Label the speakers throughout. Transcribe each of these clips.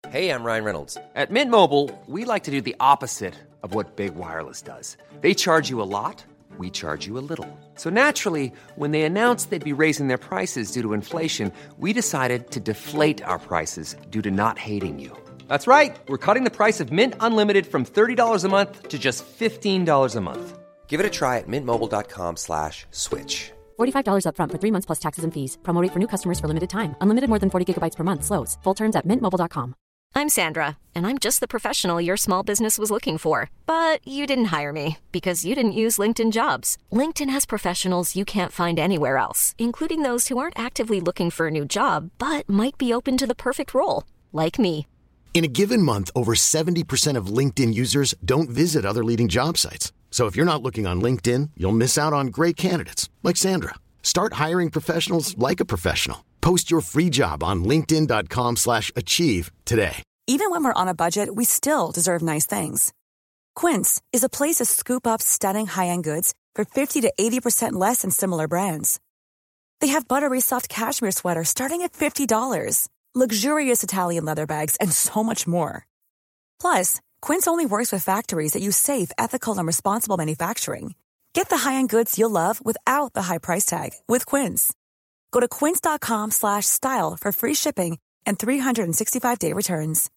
Speaker 1: Hey, I'm Ryan Reynolds. At Mint Mobile, we like to do the opposite of what Big Wireless does. They charge you a lot, we charge you a little. So naturally, when they announced they'd be raising their prices due to inflation, we decided to deflate our prices due to not hating you. That's right. We're cutting the price of Mint Unlimited from $30 a month to just $15 a month. Give it a try at mintmobile.com/switch.
Speaker 2: $45 up front for 3 months plus taxes and fees. Promo rate for new customers for limited time. Unlimited more than 40 gigabytes per month. Slows full terms at mintmobile.com.
Speaker 3: I'm Sandra, and I'm just the professional your small business was looking for. But you didn't hire me because you didn't use LinkedIn Jobs. LinkedIn has professionals you can't find anywhere else, including those who aren't actively looking for a new job, but might be open to the perfect role, like me.
Speaker 4: In a given month, over 70% of LinkedIn users don't visit other leading job sites. So if you're not looking on LinkedIn, you'll miss out on great candidates like Sandra. Start hiring professionals like a professional. Post your free job on linkedin.com/achieve today.
Speaker 5: Even when we're on a budget, we still deserve nice things. Quince is a place to scoop up stunning high-end goods for 50 to 80% less than similar brands. They have buttery soft cashmere sweaters starting at $50, luxurious Italian leather bags, and so much more. Plus, Quince only works with factories that use safe, ethical, and responsible manufacturing. Get the high-end goods you'll love without the high price tag with Quince. Go to quince.com/style for free shipping and 365-day returns.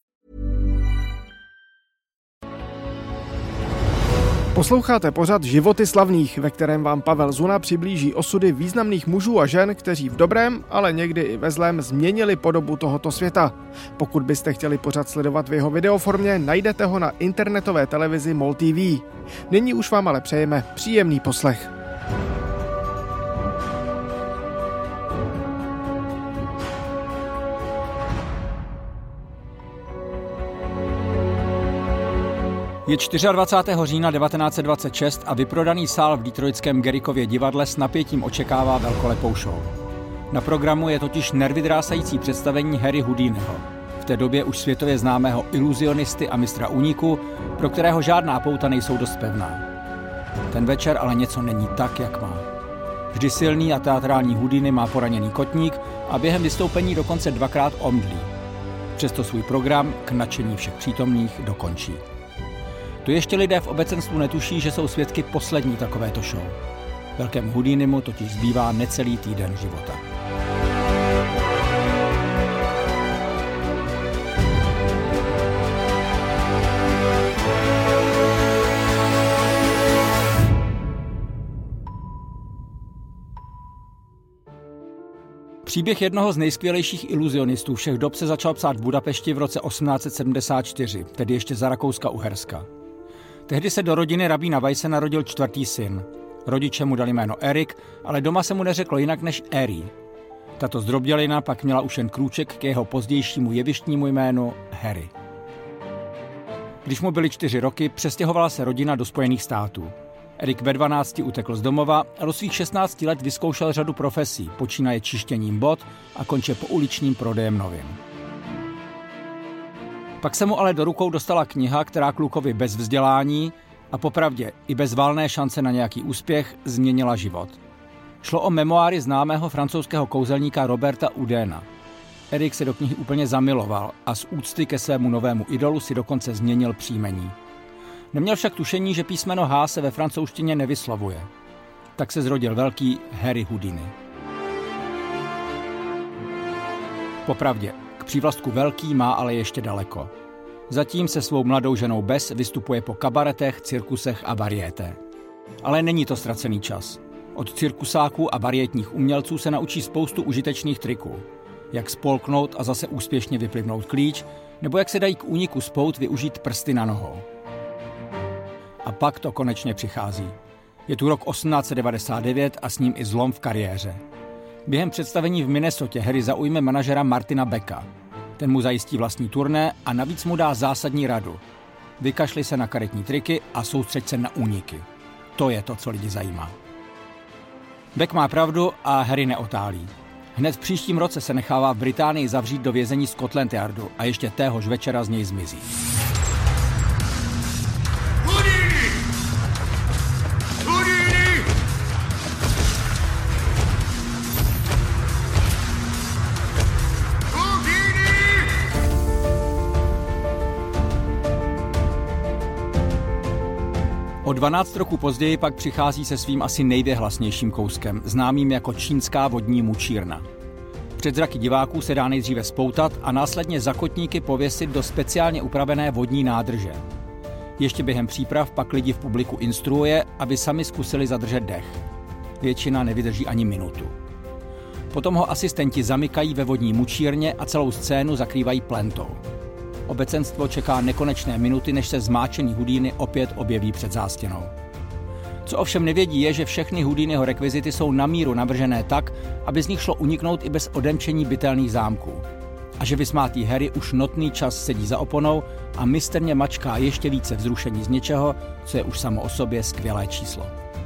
Speaker 6: Posloucháte pořad Životy slavných, ve kterém vám Pavel Zuna přiblíží osudy významných mužů a žen, kteří v dobrém, ale někdy i ve zlém změnili podobu tohoto světa. Pokud byste chtěli pořad sledovat v jeho videoformě, najdete ho na internetové televizi MOL TV. Nyní už vám ale přejeme příjemný poslech.
Speaker 7: Je 24. října 1926 a vyprodaný sál v detroitském Garrickově divadle s napětím očekává velkolepou show. Na programu je totiž nervydrásající představení Harry Houdiniho, v té době už světově známého iluzionisty a mistra úniku, pro kterého žádná pouta nejsou dost pevná. Ten večer ale něco není tak, jak má. Vždy silný a teatrální Houdini má poraněný kotník a během vystoupení dokonce dvakrát omdlí. Přesto svůj program k nadšení všech přítomných dokončí. To ještě lidé v obecenstvu netuší, že jsou svědky poslední takovéto show. Velkému Houdinimu totiž zbývá necelý týden života. Příběh jednoho z nejskvělejších iluzionistů všech dob se začal psát v Budapešti v roce 1874, tedy ještě za Rakouska-Uherska. Tehdy se do rodiny rabína Weisse narodil čtvrtý syn. Rodiče mu dali jméno Erik, ale doma se mu neřeklo jinak než Eri. Tato zdrobdělina pak měla už jen krůček k jeho pozdějšímu jevištnímu jménu Harry. Když mu byly 4 roky, přestěhovala se rodina do Spojených států. Erik ve 12 utekl z domova a do svých 16 let vyzkoušel řadu profesí, počínaje čištěním bot a konče pouličním prodejem novin. Pak se mu ale do rukou dostala kniha, která klukovi bez vzdělání a popravdě i bez valné šance na nějaký úspěch změnila život. Šlo o memoáry známého francouzského kouzelníka Roberta Houdina. Erik se do knihy úplně zamiloval a z úcty ke svému novému idolu si dokonce změnil příjmení. Neměl však tušení, že písmeno H se ve francouzštině nevyslovuje. Tak se zrodil velký Harry Houdini. Popravdě, k přívlastku velký má ale ještě daleko. Zatím se svou mladou ženou Bess vystupuje po kabaretech, cirkusech a variété. Ale není to ztracený čas. Od cirkusáků a variétních umělců se naučí spoustu užitečných triků. Jak spolknout a zase úspěšně vyplivnout klíč, nebo jak se dají k úniku z pout využít prsty na nohou. A pak to konečně přichází. Je tu rok 1899 a s ním i zlom v kariéře. Během představení v Minnesotě Harry zaujme manažera Martina Becka. Ten mu zajistí vlastní turné a navíc mu dá zásadní radu. Vykašli se na karetní triky a soustřeď se na úniky. To je to, co lidi zajímá. Beck má pravdu a Harry neotálí. Hned v příštím roce se nechává v Británii zavřít do vězení Scotland Yardu a ještě téhož večera z něj zmizí. O 12 roků později pak přichází se svým asi nejvěhlasnějším kouskem, známým jako čínská vodní mučírna. Před zraky diváků se dá nejdříve spoutat a následně za kotníky pověsit do speciálně upravené vodní nádrže. Ještě během příprav pak lidi v publiku instruuje, aby sami zkusili zadržet dech. Většina nevydrží ani minutu. Potom ho asistenti zamykají ve vodní mučírně a celou scénu zakrývají plentou. Obecenstvo čeká nekonečné minuty, než se zmáčený Houdini opět objeví před zástěnou. Co ovšem nevědí je, že všechny Houdiniho rekvizity jsou na míru navržené tak, aby z nich šlo uniknout i bez odemčení bytelných zámků. A že vysmátý Harry už notný čas sedí za oponou a mistrně mačká ještě více vzrušení z něčeho, co je už samo o sobě skvělé číslo.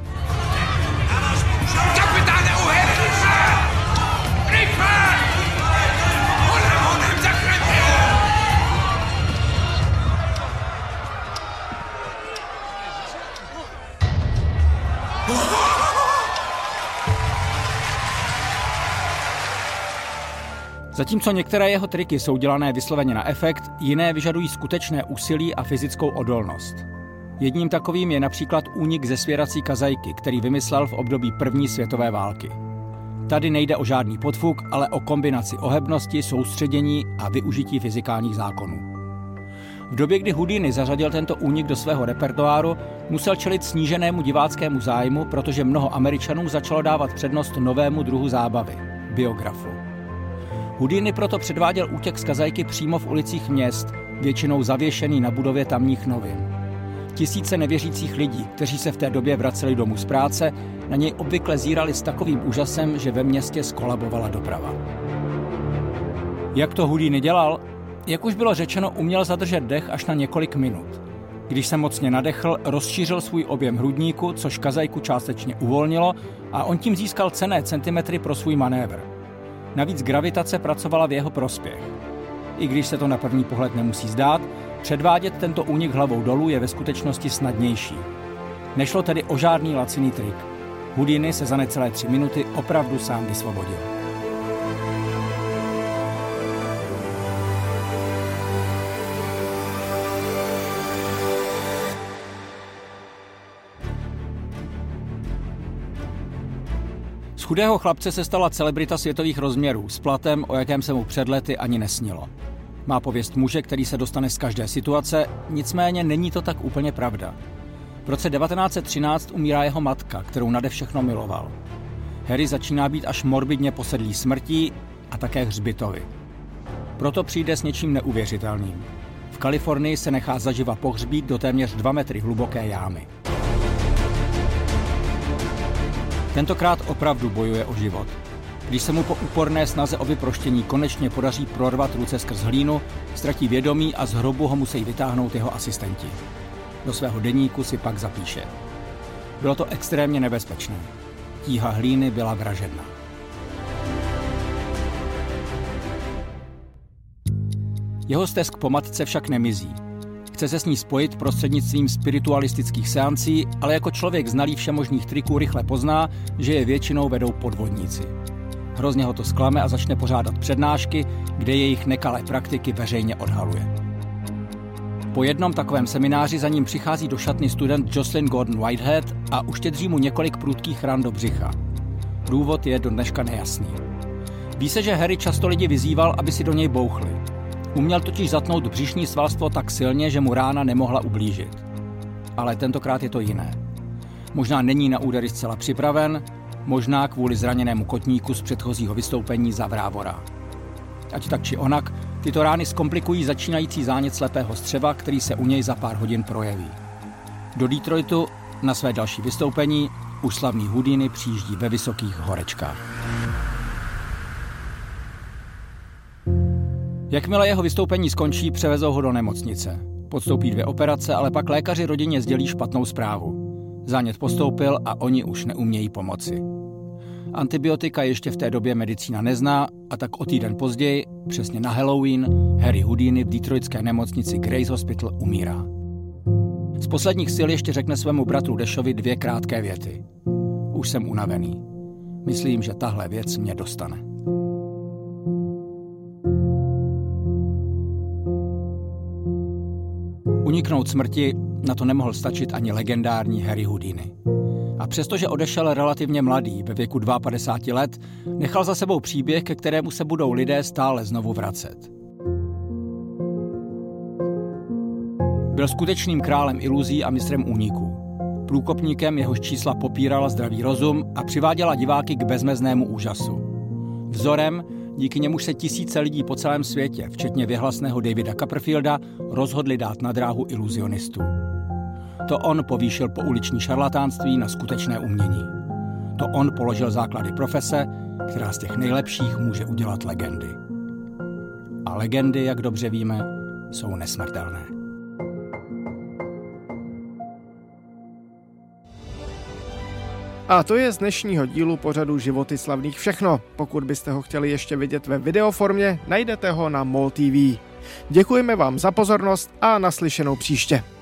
Speaker 7: Zatímco některé jeho triky jsou dělané vysloveně na efekt, jiné vyžadují skutečné úsilí a fyzickou odolnost. Jedním takovým je například únik ze svěrací kazajky, který vymyslel v období první světové války. Tady nejde o žádný podfuk, ale o kombinaci ohebnosti, soustředění a využití fyzikálních zákonů. V době, kdy Houdini zařadil tento únik do svého repertoáru, musel čelit sníženému diváckému zájmu, protože mnoho Američanů začalo dávat přednost novému druhu zábavy – biografu. Houdini proto předváděl útěk z kazajky přímo v ulicích měst, většinou zavěšený na budově tamních novin. Tisíce nevěřících lidí, kteří se v té době vraceli domů z práce, na něj obvykle zírali s takovým úžasem, že ve městě skolabovala doprava. Jak to Houdini dělal? Jak už bylo řečeno, uměl zadržet dech až na několik minut. Když se mocně nadechl, rozšířil svůj objem hrudníku, což kazajku částečně uvolnilo a on tím získal cenné centimetry pro svůj manévr. Navíc gravitace pracovala v jeho prospěch. I když se to na první pohled nemusí zdát, předvádět tento únik hlavou dolů je ve skutečnosti snadnější. Nešlo tedy o žádný laciný trik. Houdini se za necelé 3 minuty opravdu sám vysvobodil. Z chudého chlapce se stala celebrita světových rozměrů s platem, o jakém se mu před lety ani nesnilo. Má pověst muže, který se dostane z každé situace, nicméně není to tak úplně pravda. V roce 1913 umírá jeho matka, kterou nade všechno miloval. Harry začíná být až morbidně posedlý smrtí a také hřbitovy. Proto přijde s něčím neuvěřitelným. V Kalifornii se nechá zaživa pohřbít do téměř 2 metry hluboké jámy. Tentokrát opravdu bojuje o život. Když se mu po úporné snaze o vyproštění konečně podaří prorvat ruce skrz hlínu, ztratí vědomí a z hrobu ho musí vytáhnout jeho asistenti. Do svého deníku si pak zapíše. Bylo to extrémně nebezpečné. Tíha hlíny byla vražedná. Jeho stesk po matce však nemizí. Chce se s ní spojit prostřednictvím spiritualistických seancí, ale jako člověk znalý všemožných triků rychle pozná, že je většinou vedou podvodníci. Hrozně ho to zklame a začne pořádat přednášky, kde jejich nekalé praktiky veřejně odhaluje. Po jednom takovém semináři za ním přichází do šatny student Jocelyn Gordon Whitehead a uštědří mu několik prudkých ran do břicha. Důvod je do dneška nejasný. Ví se, že Harry často lidi vyzýval, aby si do něj bouchli. Uměl totiž zatnout břišní svalstvo tak silně, že mu rána nemohla ublížit. Ale tentokrát je to jiné. Možná není na údery zcela připraven, možná kvůli zraněnému kotníku z předchozího vystoupení za Vrávora. Ať tak či onak, tyto rány zkomplikují začínající zánět slepého střeva, který se u něj za pár hodin projeví. Do Detroitu na své další vystoupení už slavný Houdini přijíždí ve vysokých horečkách. Jakmile jeho vystoupení skončí, převezou ho do nemocnice. Podstoupí 2 operace, ale pak lékaři rodině sdělí špatnou zprávu. Zánět postoupil a oni už neumějí pomoci. Antibiotika ještě v té době medicína nezná a tak o týden později, přesně na Halloween, Harry Houdini v detroitské nemocnici Grace Hospital umírá. Z posledních sil ještě řekne svému bratru Dashovi 2 krátké věty. Už jsem unavený. Myslím, že tahle věc mě dostane. Uniknout smrti Na to nemohl stačit ani legendární Harry Houdini. A přestože odešel relativně mladý, ve věku 52 let, nechal za sebou příběh, ke kterému se budou lidé stále znovu vracet. Byl skutečným králem iluzí a mistrem úniků. Průkopníkem, jehož čísla popírala zdravý rozum a přiváděla diváky k bezmeznému úžasu. Vzorem, díky němuž se tisíce lidí po celém světě, včetně věhlasného Davida Copperfielda, rozhodli dát na dráhu iluzionistů. To on povýšil pouliční šarlatánství na skutečné umění. To on položil základy profese, která z těch nejlepších může udělat legendy. A legendy, jak dobře víme, jsou nesmrtelné.
Speaker 6: A to je z dnešního dílu pořadu Životy slavných všechno. Pokud byste ho chtěli ještě vidět ve videoformě, najdete ho na MOL TV. Děkujeme vám za pozornost a naslyšenou příště.